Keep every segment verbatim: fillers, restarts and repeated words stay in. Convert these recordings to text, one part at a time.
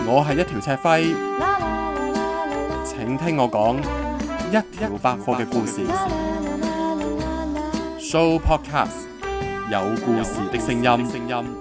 我係一條赤輝，請聽我講一條百貨嘅故事。Show Podcast 有故事的聲音。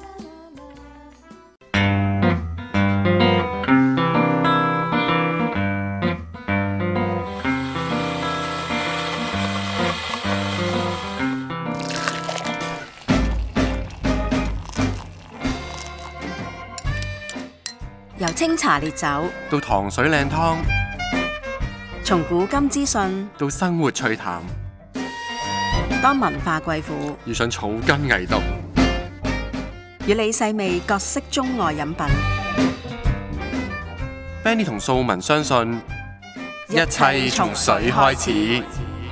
由清茶烈酒到糖水靚湯， 從古今資訊到生活趣談， 當文化貴婦遇上草根藝毒， 與你細味各式中外飲品。 Benny 同素文相信，一切從水開始。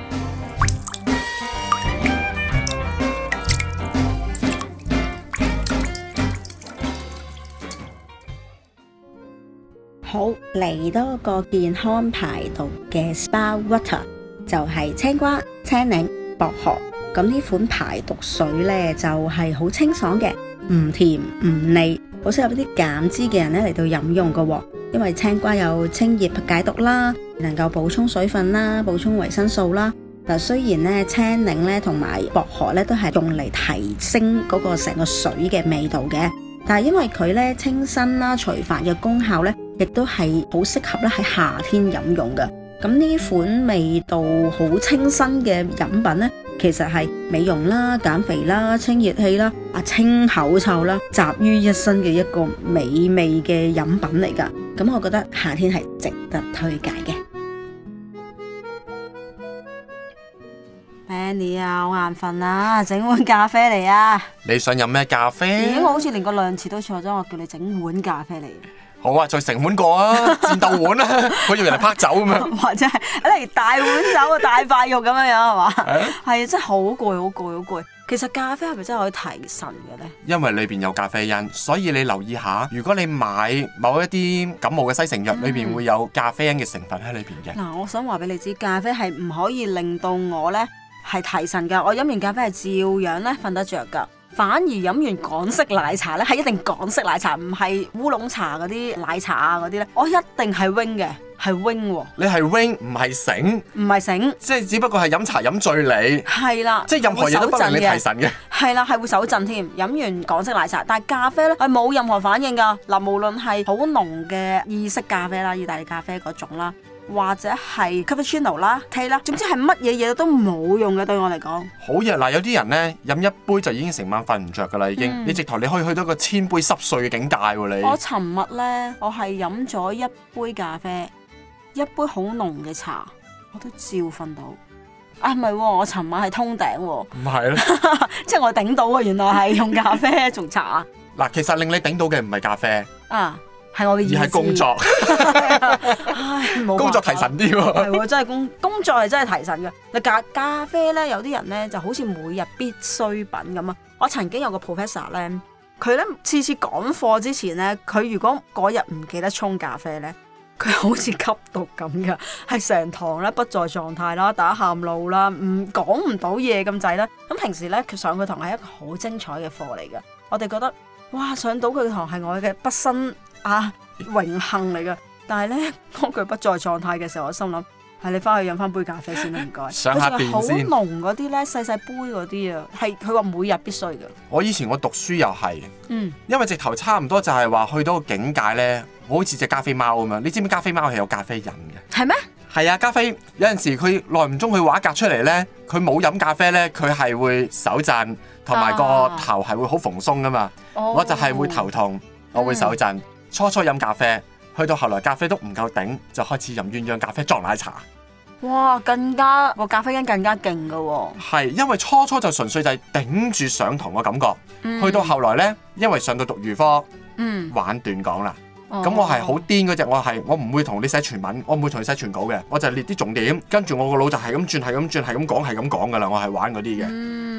好，嚟多個健康排毒嘅 Spa Water， 就係青瓜、青檸、薄荷。咁呢款排毒水呢，就係好清爽嘅，唔甜唔膩，好適合啲減脂嘅人呢嚟到飲用㗎。因為青瓜有清熱解毒啦，能夠補充水分啦，補充維生素啦。嗱，雖然呢青檸呢同埋薄荷呢都係用嚟提升嗰個成個水嘅味道嘅，但係因為佢呢清新啦、除煩嘅功效呢，亦都係好適合咧喺夏天飲用嘅。咁呢款味道好清新嘅飲品呢，其實係美容啦、減肥啦、清熱氣啦、啊清口臭啦，集於一身嘅一個美味嘅飲品嚟㗎。咁我覺得夏天係值得推介嘅。Benny 啊，好眼瞓啊，整碗咖啡嚟啊！ 你想飲咩咖啡？ 咦，我好似連個量詞都錯咗，我叫你整碗咖啡嚟。 好啊，再成碗過啊，戰鬥碗啊，好似人哋拍酒咁樣， 或者係嚟大碗酒啊，大塊肉咁樣樣係嘛？係啊，真係好攰，好攰，好攰。其實咖啡係咪真係可以提神嘅咧？因為裏邊有咖啡因，所以你留意下，如果你買某一啲感冒嘅西成藥，裏邊會有咖啡因嘅成分喺裏邊嘅。嗱、 嗯，我想話俾你知，咖啡係唔可以令到我咧係提神㗎。我飲完咖啡係照樣咧瞓得着㗎。反而飲完港式奶茶咧，係一定港式奶茶，唔係烏龍茶嗰啲奶茶啊嗰啲咧，我一定係 wing 嘅，係 wing 喎。 你係 wing 唔係醒，唔係醒， 即係只不過係飲茶飲醉你。係啦，即係任何嘢都不令你提神嘅。係啦，係會手震添。飲完港式奶茶，但係咖啡咧係冇任何反應㗎。嗱，無論係好濃嘅意式咖啡啦、意大利咖啡嗰種啦，或者係 cappuccino 啦、tea 啦，總之係乜嘢嘢都冇用嘅，對我嚟講。 好熱嗱，有啲人咧飲一杯就已經成晚瞓唔着㗎啦，已經。嗯、你直頭你可以去到個千杯濕碎嘅境界喎，你。我尋日咧，我係飲咗一杯咖啡，一杯好濃嘅茶，我都照瞓到。啊，唔係喎，我尋晚係通頂喎。唔係咯，即係我頂到啊！原來係用咖啡同茶。嗱，其實令你頂到嘅唔係咖啡啊。係我嘅意思，而係工作，唉，冇工作提神啲喎，係喎，真係工工作係真係提神嘅。嗱，咖咖啡咧，有啲人咧就好似每日必需品咁啊。我曾經有個 professor 咧，佢咧次次講課之前咧，佢如果嗰日唔記得沖咖啡咧，佢好似吸毒咁噶，係成堂咧不在狀態啦，打喊路啦，唔講唔到嘢咁滯啦。咁平時咧，佢上佢堂係一個好精彩嘅課嚟嘅，我哋覺得哇，上到佢堂係我嘅畢生啊，榮幸嚟噶，但係咧，當佢不在狀態嘅時候，我心諗係你翻去飲翻杯咖啡先啦，唔該。上下電先。好濃嗰啲咧，細細杯嗰啲啊，係佢話每日必須嘅。我以前我讀書又係，嗯，因為直頭差唔多就係話去到個境界咧，好似隻加菲貓咁樣。你知唔知加菲貓係有咖啡因嘅？係咩？係啊，加菲有陣時佢耐唔中佢畫格出嚟咧，佢冇飲咖啡咧，佢係會手震，同埋個頭係會好蓬鬆噶嘛。哦、我就係會頭痛，我會手震。嗯初初飲咖啡，去到後來咖啡都唔夠頂，就開始飲鴛鴦咖啡撞奶茶。哇，更加個咖啡因更加勁噶喎。係，因為初初就純粹就係頂住上堂嘅感覺，嗯、去到後來呢，因為上到讀預科，嗯、玩斷講啦。咁、哦、我係好癲嗰隻，我係我唔會同你寫全文，我唔會同你寫全稿嘅，我就列啲重點，跟住我個腦就係咁轉，係咁轉，係咁講，係咁講噶啦，我係玩嗰啲嘅。嗯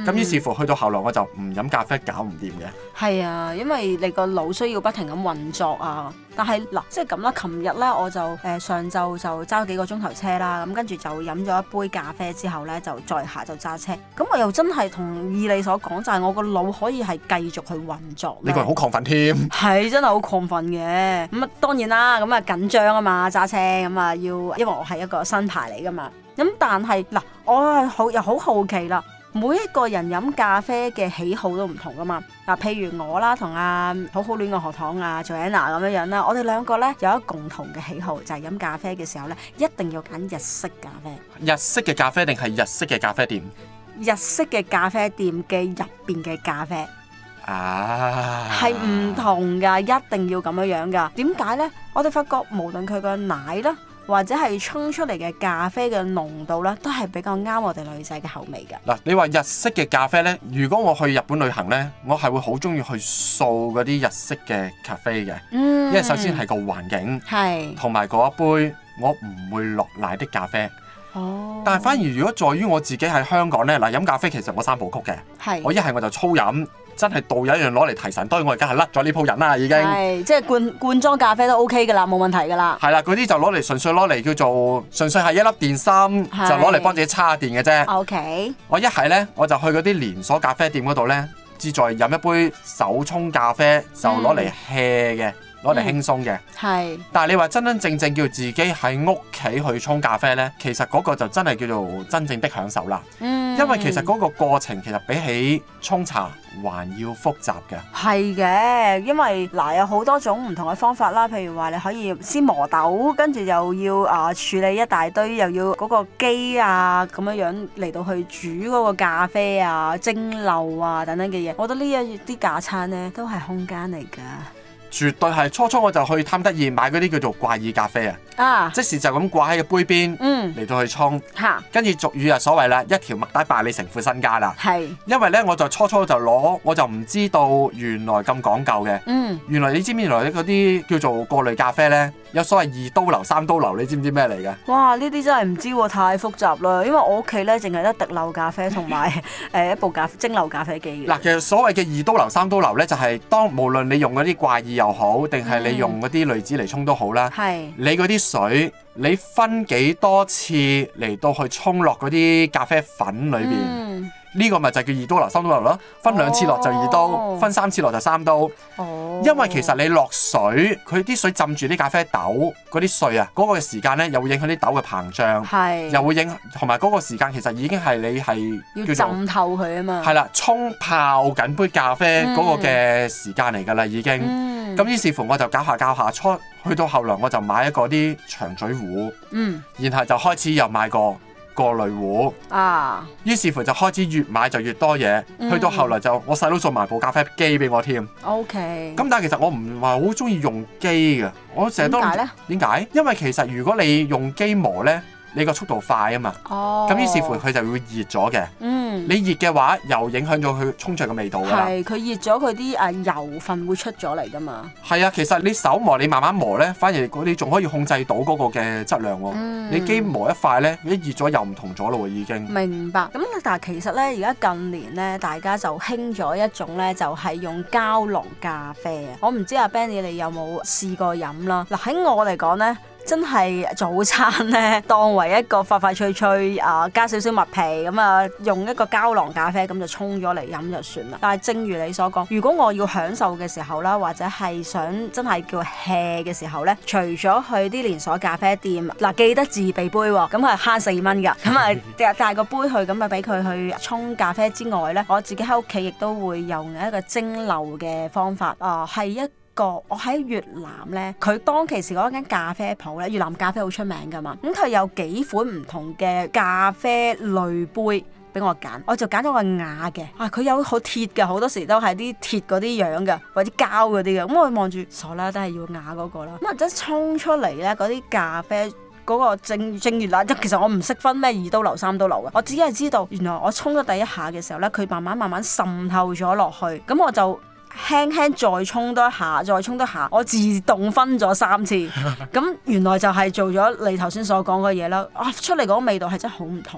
咁於是乎去到後來我就唔飲咖啡搞唔掂嘅。 係啊，因為你個腦需要不停咁運作啊。但係嗱，即係咁啦。琴日咧我就誒、呃、上晝就揸幾個鐘頭車啦，咁跟住就飲咗一杯咖啡之後咧，就再下晝揸車。咁我又真係同意你所講，就係、是、我個腦可以係繼續去運作。 呢個人好亢奮添。 係真係好亢奮嘅。咁啊當然啦，咁啊緊張啊嘛揸車，咁啊要，因為我係一個新牌嚟噶嘛。咁但係嗱，我係好又好好奇啦。每一個人飲咖啡嘅喜好都唔同噶嘛。嗱，譬如我啦，同阿好好戀嘅學堂啊 Joanna 咁樣樣啦，我哋兩個咧有一個共同嘅喜好，就係、是、飲咖啡嘅時候咧，一定要揀日式咖啡。 日式嘅咖啡定係日式嘅咖啡店？ 日式嘅咖啡店嘅入邊嘅咖啡啊， 係唔同㗎，一定要咁樣樣㗎。點解咧？我哋發覺無論佢個奶啦，或者係沖出嚟嘅咖啡嘅濃度咧，都係比較啱我哋女仔嘅口味嘅。嗱， 你話日式嘅咖啡咧，如果我去日本旅行咧，我係會好中意去掃嗰啲日式嘅咖啡嘅，嗯、因為首先係個環境，係同埋嗰一杯我唔會落奶的咖啡。哦，但係反而如果在於我自己喺香港咧，嗱飲咖啡其實我三部曲嘅，係我一係我就粗飲。真係導有一樣攞嚟提神，當然我而家係甩咗呢鋪癮啦，已經係即係罐罐裝咖啡都 OK 㗎啦，冇問題㗎啦。 係啦，嗰啲就攞嚟純粹攞嚟叫做純粹係一粒電芯，就攞嚟幫自己叉下電嘅啫。OK，我一係咧我就去嗰啲連鎖咖啡店嗰度咧，志在飲一杯手沖咖啡，就攞嚟 hea 嘅。攞嚟輕鬆嘅，係、嗯。但係你話真真正正叫自己喺屋企去沖咖啡呢，其實嗰個就真係叫做真正的享受啦。嗯。因為其實嗰個過程其實比起沖茶還要複雜嘅。係嘅，因為嗱有好多種唔同嘅方法啦，譬如話你可以先磨豆，跟住又要啊、呃、處理一大堆，又要嗰個機啊咁樣樣嚟到去煮嗰個咖啡啊、蒸餾啊等等嘅嘢。我覺得呢一啲架撐呢都係空間嚟㗎。絕對係，初初我就去貪得意買嗰啲叫做怪異咖啡啊！啊，即時就咁掛喺個杯邊，嗯，嚟到去沖，嚇，跟住俗語啊所謂啦，一條麥帶敗你成副身家啦，係，因為咧我就初初就攞，我就唔知道原來咁講究嘅，嗯，原來你知唔知原來嗰啲叫做過濾咖啡咧，有所謂二刀流、三刀流，你知唔知咩嚟嘅？哇！呢啲真係唔知喎，太複雜啦，因為我屋企咧淨係得滴漏咖啡同埋誒一部咖蒸餾咖啡機。嗱，其實所謂嘅二刀流、三刀流咧，就係、是、當無論你用嗰啲怪異又好，定係你用嗰啲濾紙嚟沖都好啦，係、嗯、你嗰啲水，你分幾多次嚟到去沖落嗰啲咖啡粉裏邊，呢、嗯、個咪就叫二刀流、三刀流咯。分兩次落就二刀，哦、分三次落就三刀。哦，因為其實你落水，佢啲水浸住啲咖啡豆嗰啲碎啊，嗰、嗰個時間咧又會影響啲豆嘅膨脹，係又會影同埋嗰個時間其實已經係你係要浸透佢啊嘛。係啦，沖泡緊杯咖啡嗰個嘅時間嚟㗎啦，已經。嗯，咁於是乎我就搞下搞下，初去到後來我就買一個啲長嘴壺，嗯，然後就開始又買個過濾壺啊，於是乎就開始越買就越多嘢，嗯、去到後來就我細佬送埋部咖啡機俾我添。OK，咁但係其實我唔係好中意用機嘅，我成日都點解咧？點解？因為其實如果你用機磨咧，你個速度快啊嘛，哦，咁於是乎佢就會熱咗嘅。嗯，你熱嘅話又影響咗佢沖出嘅味道㗎啦。係，佢熱咗佢啲誒油分會出咗嚟㗎嘛。係啊，其實你手磨你慢慢磨咧，反而你仲可以控制到嗰個嘅質量喎。嗯，你機磨一塊咧，一熱咗又唔同咗咯喎，已經。明白。咁但係其實咧，而家近年咧，大家就興咗一種咧，就係用膠囊咖啡啊。我唔知阿 Benny 你有冇試過飲啦？嗱，喺我嚟講咧，真係早餐咧，當為一個快快脆脆啊，加少少麥皮咁啊，用一個膠囊咖啡咁就沖咗嚟飲就算啦。但係正如你所講，如果我要享受嘅時候啦，或者係想真係叫 hea 嘅時候咧，除咗去啲連鎖咖啡店，嗱、啊、記得自備杯喎，咁係慳四蚊㗎，咁啊帶個杯去，咁啊俾佢去沖咖啡之外咧，我自己喺屋企亦都會用一個蒸餾嘅方法啊，係一個我喺越南咧，佢當其時嗰間咖啡鋪咧，越南咖啡好出名㗎嘛，咁佢有幾款唔同嘅咖啡濾杯俾我揀，我就揀咗個瓦嘅，啊佢有好鐵嘅，好多時都係啲鐵嗰啲樣嘅，或者膠嗰啲嘅，咁我望住傻啦，都係要瓦嗰個啦，咁啊即係沖出嚟咧嗰啲咖啡。嗰個正正如啦，其實我唔識分咩二刀流三刀流嘅，我只係知道原來我沖咗第一下嘅時候咧，佢慢慢慢慢滲透咗落去，咁我就輕輕再沖多一下，再沖多一下，我自動分咗三次，咁原來就係做咗你頭先所講嘅嘢啦，啊出嚟嗰個味道係真係好唔同嘅。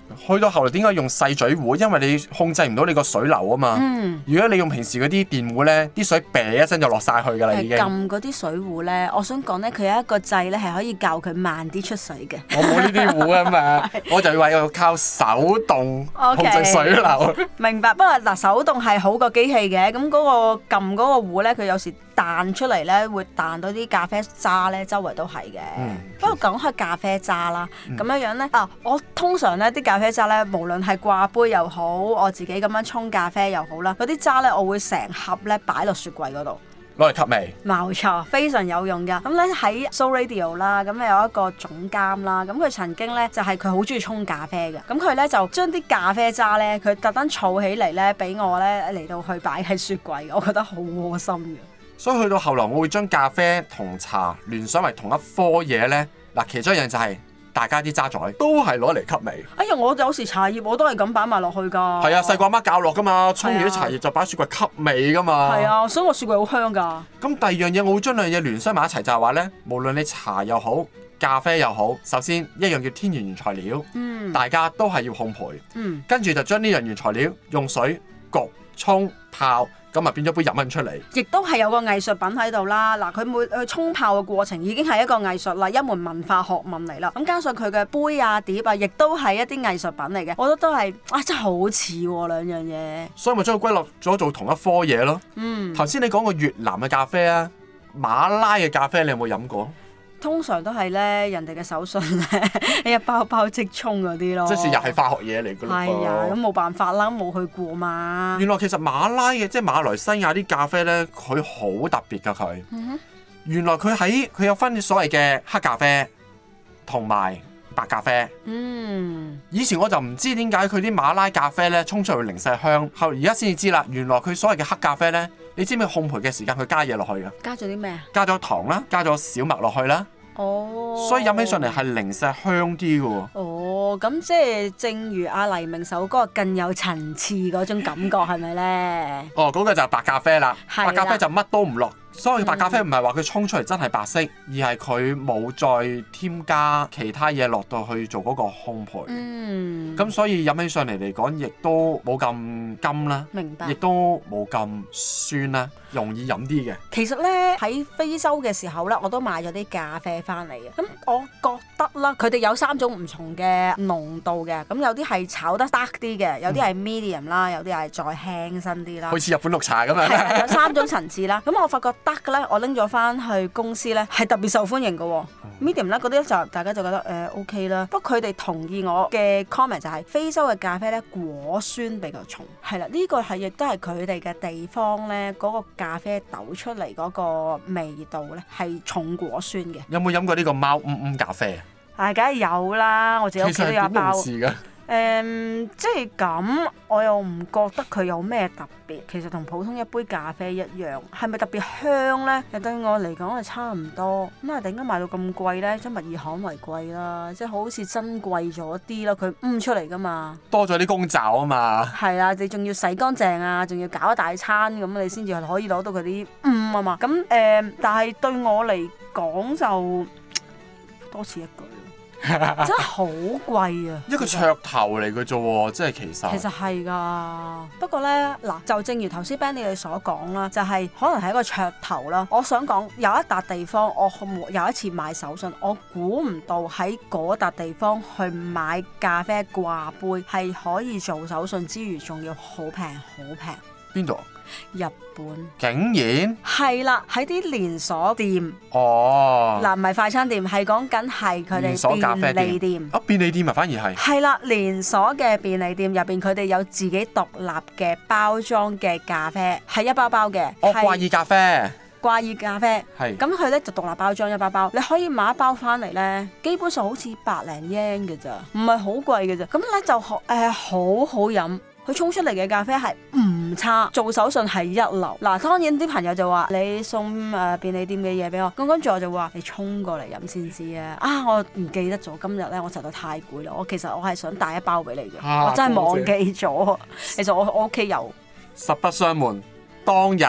去到後來點解用細嘴壺？因為你控制唔到你個水流啊嘛。 嗯、 如果你用平時嗰啲電壺咧，啲水啤一聲就落晒去㗎啦已經。 撳嗰啲水壺咧，我想講咧，佢有一個掣咧係可以教佢慢啲出水嘅。 我冇呢啲壺啊嘛，我就話要靠手動控制水流。 Okay. 明白，不過嗱手動係好過機器嘅，咁嗰個撳嗰個壺咧，佢有時彈出嚟咧會彈到啲咖啡渣咧，周圍都係嘅。嗯、不過講開咖啡渣啦，咁、嗯、樣樣咧啊，我通常咧啲咖啡渣咧，無論係掛杯又好，我自己咁樣沖咖啡又好啦，嗰啲渣咧我會成盒咧擺落雪櫃嗰度。 攞嚟吸味， 冇錯，非常有用㗎。咁咧喺 So Radio 啦，咁有一個總監啦，咁佢曾經咧就係佢好中意沖咖啡嘅，咁佢咧就將啲咖啡渣咧，佢特登儲起嚟咧，俾我咧嚟到去擺喺雪櫃，我覺得好窩心嘅。 所以去到後來，我會將咖啡同茶聯想為同一科嘢咧。嗱，其中一樣就係、是。大家啲渣滓都係攞嚟吸味。哎呀， 我有時茶葉我都係咁擺埋落去㗎。 係啊，細個阿媽教落㗎嘛，沖完啲茶葉就擺雪櫃吸味㗎嘛。 係啊，所以我雪櫃好香㗎。 咁第二樣嘢，我會將兩樣嘢聯想埋一齊，就係話咧，無論你茶又好，咖啡又好，首先一樣叫天然原材料，嗯、大家都係要烘焙，嗯、跟住就將呢樣原材料用水焗、沖、泡。咁咪變咗杯飲品出嚟， 亦都係有個藝術品喺度啦。嗱，佢每去沖泡嘅過程已經係一個藝術啦，一門文化學問嚟啦。咁加上佢嘅杯啊碟啊，亦都係一啲藝術品嚟嘅。我覺得都係啊，真係好似喎兩樣嘢。 所以咪將佢歸落咗做同一科嘢咯。嗯，頭先你講過越南嘅咖啡啊，馬拉嘅咖啡，你有冇飲過？ 通常都係咧，人哋嘅手信咧，一包包即沖嗰啲咯。 即係又係化學嘢嚟㗎咯。 係啊，咁冇辦法啦，冇去過嘛。 原來其實馬拉嘅即係馬來西亞啲咖啡咧，佢好特別㗎佢。嗯、哼原來佢喺佢有分所謂嘅黑咖啡同埋白咖啡。嗯。以前我就唔知點解佢啲馬拉咖啡咧沖出嚟零舍香，後而家先至知啦。原來佢所謂嘅黑咖啡咧。你知唔知烘焙嘅時間佢加嘢落去㗎？ 加咗啲咩啊？ 加咗糖啦，加咗小麥落去啦。哦。所以飲起上嚟係零舍香啲㗎喎。 哦，咁即係正如阿黎明首歌更有層次嗰種感覺係咪咧？ 哦，嗰、嗰個就係白咖啡啦。 係啦。 白咖啡就乜都唔落。所以白咖啡唔係話佢沖出嚟真係白色，嗯、而係佢冇再添加其他嘢落到去做嗰個烘焙。嗯。咁所以飲起上嚟嚟講，亦都冇咁甘啦。明白。亦都冇咁酸啦，容易飲啲嘅。 其實咧喺非洲嘅時候咧，我都買咗啲咖啡翻嚟嘅。咁我覺得啦，佢哋有三種唔同嘅濃度嘅。咁有啲係炒得 dark 啲嘅，有啲係 medium 啦，有啲係再輕身啲啦。 好似日本綠茶咁樣。 係有三種層次啦。咁我發覺得嘅咧，我拎咗翻去公司咧，係特別受歡迎嘅、哦。嗯、medium 咧嗰啲就大家就覺得誒、呃、OK 啦。不過佢哋同意我嘅 comment 就係、是、非洲嘅咖啡咧果酸比較重，係啦，呢、這個係亦都係佢哋嘅地方咧嗰、那個咖啡豆出嚟嗰個味道咧係重果酸嘅。 有冇飲過呢個貓嗯嗯咖啡啊？ 係梗係有啦，我自己屋企都有一包。誒、嗯，即係咁，我又唔覺得佢有咩特別。其實同普通一杯咖啡一樣，係咪特別香咧？對我嚟講係差唔多。咁啊，點解賣到咁貴咧？即係物以罕為貴啦，即係好似珍貴咗啲咯。佢嗯出嚟噶嘛， 多咗啲功效啊嘛。係啊，你仲要洗乾淨啊，仲要搞一大餐咁，你先至可以攞到佢啲嗯啊嘛。咁誒、呃，但係對我嚟講就多此一舉。真係好貴啊！ 一個噱頭嚟嘅啫喎，即係其實其實係㗎。不過咧，嗱就正如頭先 Benny 你所講啦，就係、是、可能係一個噱頭啦。我想講有一笪地方，我有一次買手信，我估唔到喺嗰笪地方去買咖啡掛杯係可以做手信之餘，仲要好平好平。 邊度？ 日本竟然係啦，喺啲連鎖店哦， 嗱唔係快餐店，係講緊係佢哋便利店啊，便利店啊，反而係係啦，連鎖嘅便利店入邊，佢哋有自己獨立嘅包裝嘅咖啡，係一包包嘅。 哦，掛耳咖啡， 掛耳咖啡係咁，佢咧就獨立包裝一包包，你可以買一包翻嚟咧，基本上好似百零 yen 嘅咋，唔係好貴嘅咋。咁咧就誒、呃、好好飲。佢沖出嚟嘅咖啡係唔差，做手信係一流。嗱，當然啲朋友就話你送誒、呃、便利店嘅嘢俾我，咁跟住我就話你沖過嚟飲先知啊！啊，我唔記得咗今日咧，我實在太攰啦。我其實我係想帶一包俾你嘅，啊、我真係忘記咗。其實我我屋企有。 實不相瞞，當日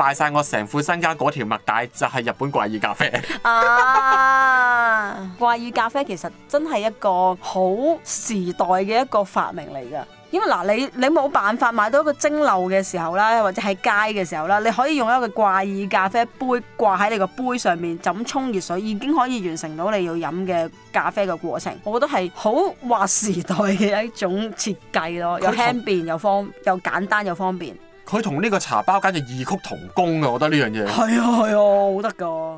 敗晒我成副身家嗰條麥帶就係日本怪異咖啡。 啊！怪異咖啡其實真係一個好時代嘅一個發明嚟㗎。因為嗱，你你冇辦法買到一個蒸餾嘅時候啦，或者喺街嘅時候啦，你可以用一個怪異咖啡杯掛喺你個杯上面，就咁沖熱水，已經可以完成到你要飲嘅咖啡嘅過程。我覺得係好劃時代嘅一種設計咯，又輕便又方又簡單又方便。 佢同呢個茶包簡直異曲同工啊！我覺得呢樣嘢係啊係啊，好得㗎。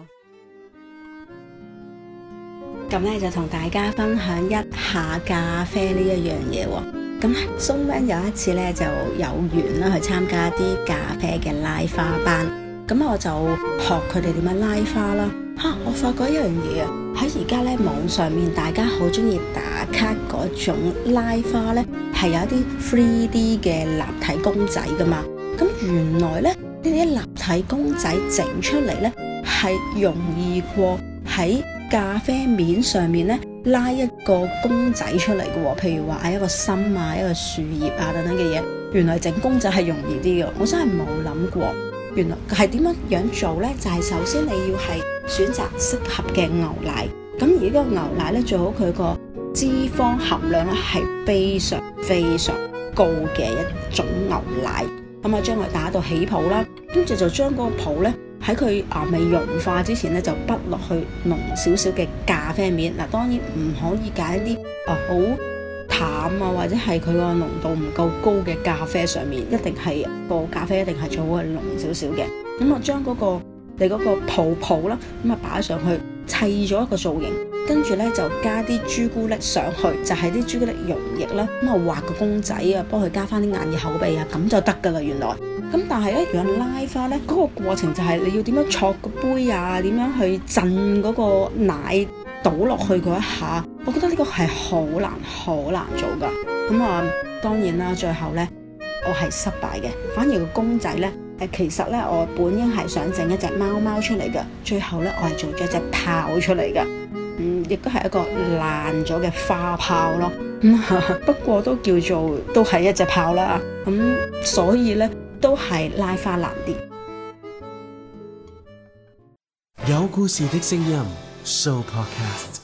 咁咧就同大家分享一下咖啡呢一樣嘢喎。咁松 man 有一次咧就有緣啦去參加啲咖啡嘅拉花班，咁我就學佢哋點樣拉花啦。嚇、啊！我發覺一樣嘢啊，喺而家咧網上面大家好中意打卡嗰種拉花咧，係有一啲 three D 嘅立體公仔噶嘛。咁原來咧呢啲立體公仔整出嚟咧係容易過喺咖啡面上面咧拉一個公仔出嚟嘅喎，譬如話一個心啊、一個樹葉啊等等嘅嘢，原來整公仔係容易啲嘅，我真係冇諗過。原來係點樣樣做呢？就係、是、首先你要係選擇適合嘅牛奶，咁而呢個牛奶咧最好佢個脂肪含量咧係非常非常高嘅一種牛奶，咁啊將佢打到起泡啦，跟住就將嗰個泡咧喺佢啊未融化之前咧就滗落去濃少少嘅咖啡面。嗱，當然唔可以揀一啲啊好淡啊或者係佢個濃度唔夠高嘅咖啡上面，一定係個咖啡一定係最好係濃少少嘅。咁我將嗰個你嗰個泡泡啦，咁啊擺上去砌咗一個造型，跟住咧就加啲朱古力上去，就係啲朱古力溶液啦，咁啊畫個公仔啊，幫佢加翻啲眼耳口鼻啊，咁就得噶啦原來。咁但係咧，如果拉花咧，嗰、那個過程就係你要點樣戳個杯啊，點樣去震嗰個奶倒落去嗰一下，我覺得呢個係好難好難做噶。咁啊，當然啦，最後咧我係失敗嘅，反而個公仔咧誒，其實咧我本應係想整一隻貓貓出嚟嘅，最後咧我係做咗隻豹出嚟嘅，嗯，亦都係一個爛咗嘅花豹咯。咁不過都叫做都係一隻豹啦。咁所以咧。都係拉花難啲。 有故事的聲音 Show Podcast。